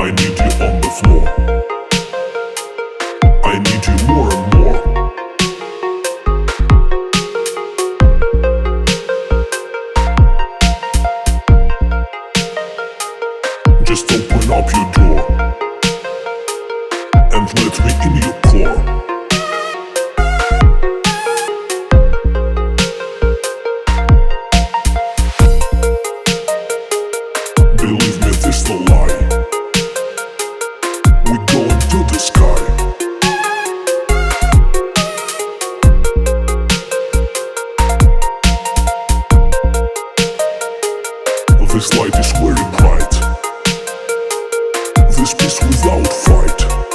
I need you on the floor. I need you more and more. Just open up your door and let me in your core. Believe me, this no lie. We're going to the sky. This light is very bright. This peace without fight.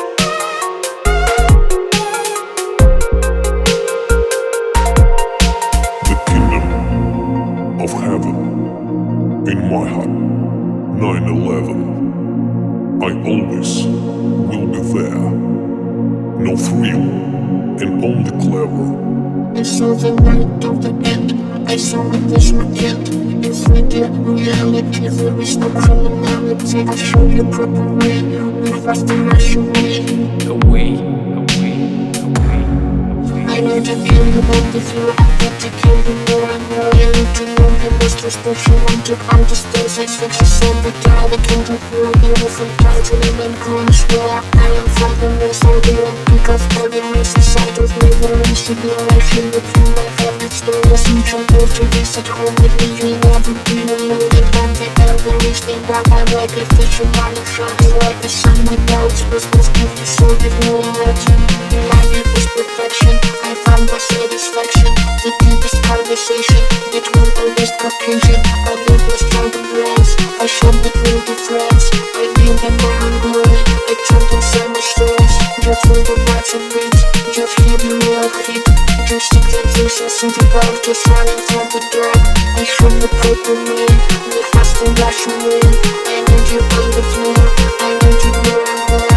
The kingdom of heaven in my heart. 9/11. I always will be there. No thrill and only clever. I saw the light of the end. I saw it was weekend. In 3D reality, there is no criminality. I show you proper way. Move us the Russian way. Away, away, away, away. I need to kill you on the floor. I need to kill you more and more. I need to know the most special one to understand sex fiction. So the guy that can do real evil from title and crunch. Where I am from the most ideal. Because all the race inside of me. There is a generation between my habits. There was some trouble to this at home with me. You never be alone. And I'm the elderly thing that I'm like a fish in my shining like the sun without Christmas gift. So give no energy. In my deepest perfection, I found my satisfaction. The deepest conversation between honest Caucasian. I know the stronger brains. I showed the real difference. I knew the man glory. I told them so much stories. Just for the rights and beats. Just hear the real hit. Just to get this and see the world just running from the dark. I showed the paper name. The fast and Russian way. I need you on the floor. I need you more and more.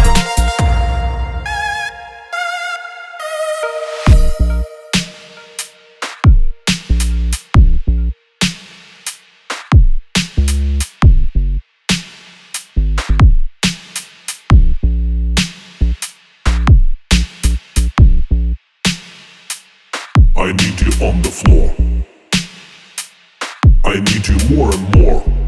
I need you on the floor. I need you more and more.